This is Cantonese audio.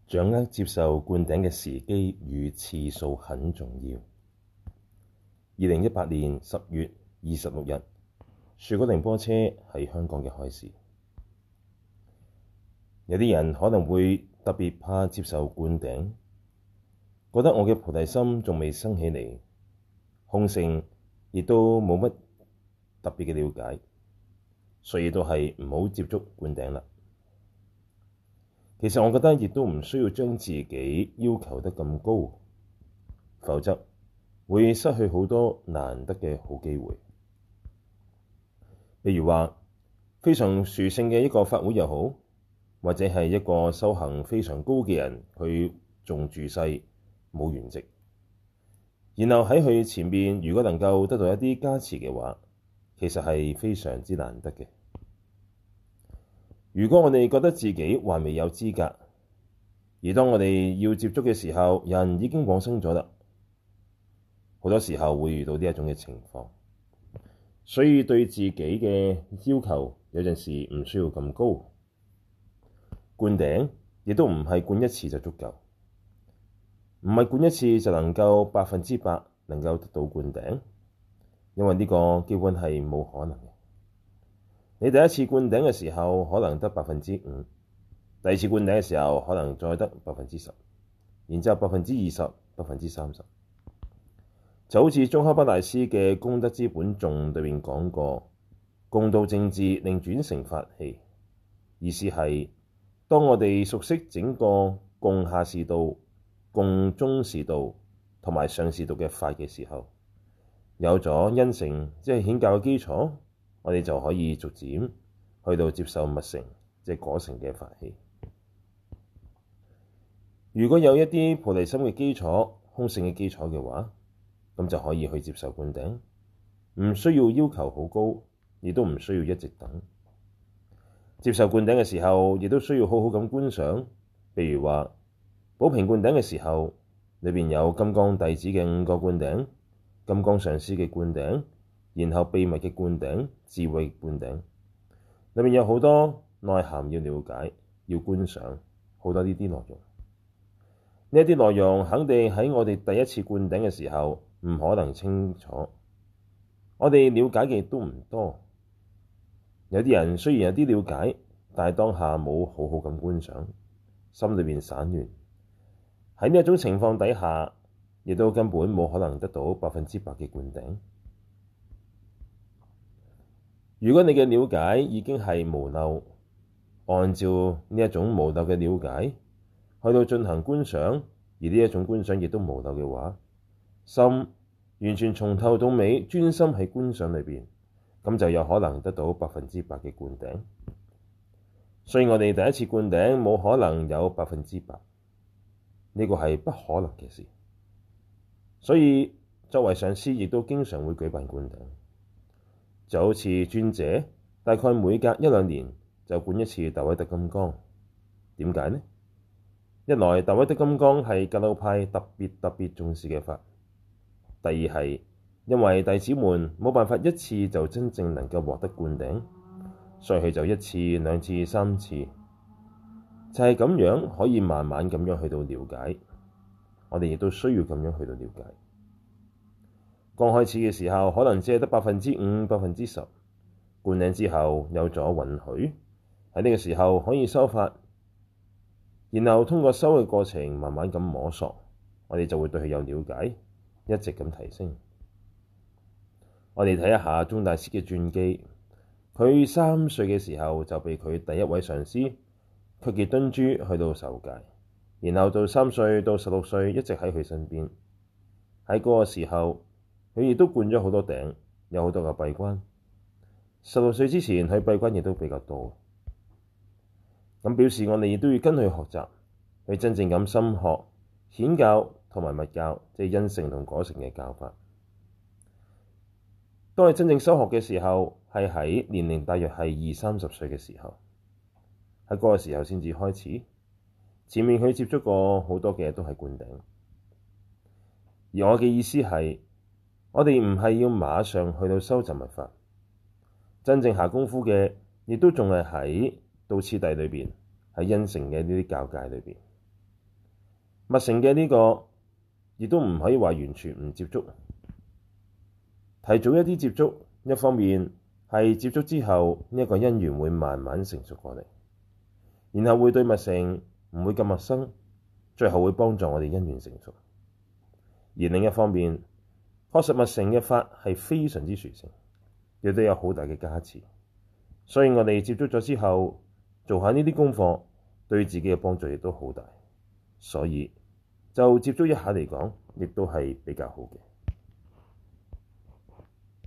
掌握接受灌頂嘅時機與次數很重要。2018年10月26日，樹果仁波切喺香港嘅開示。有啲人可能會特別怕接受灌頂，覺得我嘅菩提心仲未生起嚟，空性亦都冇乜特別嘅了解，所以都係唔好接觸灌頂啦。其實我覺得亦都唔需要將自己要求得咁高，否則會失去好多難得嘅好機會。譬如話非常殊勝嘅一個法會又好，或者係一個修行非常高嘅人，佢仲住世冇圓寂，然後喺佢前面如果能夠得到一啲加持嘅話，其實係非常之難得嘅。如果我哋覺得自己還未有資格，而當我哋要接觸嘅時候，人已經往生咗啦，好多時候會遇到呢一種嘅情況，所以對自己嘅要求有陣時唔需要咁高。灌頂亦都唔係灌一次就足夠，唔係灌一次就能夠100%能夠得到灌頂，因為呢個基本係冇可能嘅。你第一次灌頂嘅時候可能得5%，第二次灌頂嘅時候可能再得10%，然之後20%、30%。就好似宗喀巴大師嘅《功德資本頌》裏面講過，共度淨治令轉成法器，意思係當我哋熟悉整個共下士道、共中士道同埋上士道嘅法嘅時候，有咗因乘即係顯教嘅基礎，我哋就可以逐漸去到接受密乘即係果乘嘅法器。如果有一啲菩提心嘅基礎、空性嘅基礎嘅話，咁就可以去接受灌頂，唔需要要求好高，亦都唔需要一直等。接受灌頂嘅時候，亦都需要好好咁觀賞。譬如話寶瓶灌頂嘅時候，裏邊有金剛弟子嘅5個灌頂、金剛上師嘅灌頂，然後秘密嘅灌頂、智慧灌頂，裏面有好多內涵要了解、要觀賞，好多呢啲內容。呢一啲內容肯定喺我哋第一次灌頂嘅時候唔可能清楚，我哋了解嘅都唔多。有啲人雖然有啲了解，但係當下冇好好咁觀賞，心裏邊散亂。喺呢一種情況底下，亦都根本冇可能得到100%嘅灌頂。如果你嘅了解已經係無漏，按照呢一種無漏嘅了解去到進行觀賞，而呢一種觀賞亦都無漏嘅話，心完全從頭到尾專心喺觀賞裏邊，咁就有可能得到100%嘅灌頂。所以我哋第一次灌頂冇可能有100%，呢個係不可能嘅事。所以作為上師亦都經常會舉辦灌頂，就好似尊者大概每隔1-2年就灌一次大威德金剛。點解呢？一來大威德金剛係格魯派特別重視嘅法，第二係因為弟子們冇辦法一次就真正能夠獲得灌頂，所以佢就1次、2次、3次，就係咁樣可以慢慢咁樣去到了解。我哋亦都需要咁樣去到了解。剛開始嘅時候可能只係得5%、10%，灌頂之後有咗允許，喺呢個時候可以修法，然後通過修嘅過程慢慢咁摸索，我哋就會對佢有了解，一直咁提升。我哋睇一下宗大師嘅傳記，佢3歲嘅時候就被佢第一位上師卻傑敦珠去到受戒，然後到3歲到16歲一直喺佢身邊。喺嗰個時候，佢亦都灌咗好多頂，有好多個閉關。16歲之前，佢閉關亦都比較多。咁表示我哋亦都要跟佢學習，去真正咁深學顯教同埋密教，即係因乘同果乘嘅教法。當佢真正修學嘅時候，係喺年齡大約係20-30歲嘅時候，喺嗰個時候先至開始。前面佢接觸過好多嘅都係灌頂，而我嘅意思係，我哋唔係要馬上去到修習密法，真正下功夫嘅，亦都仲係喺道次第裏邊，喺因乘嘅呢啲教界裏邊。 密乘嘅呢個亦都唔可以話完全唔接觸，提早一啲接觸，一方面係接觸之後呢一個因緣會慢慢成熟過嚟，然後會對密乘唔會咁陌生，最後會幫助我哋因緣成熟。而另一方面，確實密乘嘅法係非常之殊勝，亦都有好大嘅加持，所以我哋接觸咗之後做下呢啲功課，對自己嘅幫助亦都好大，所以就接觸一下嚟講，亦都係比較好嘅。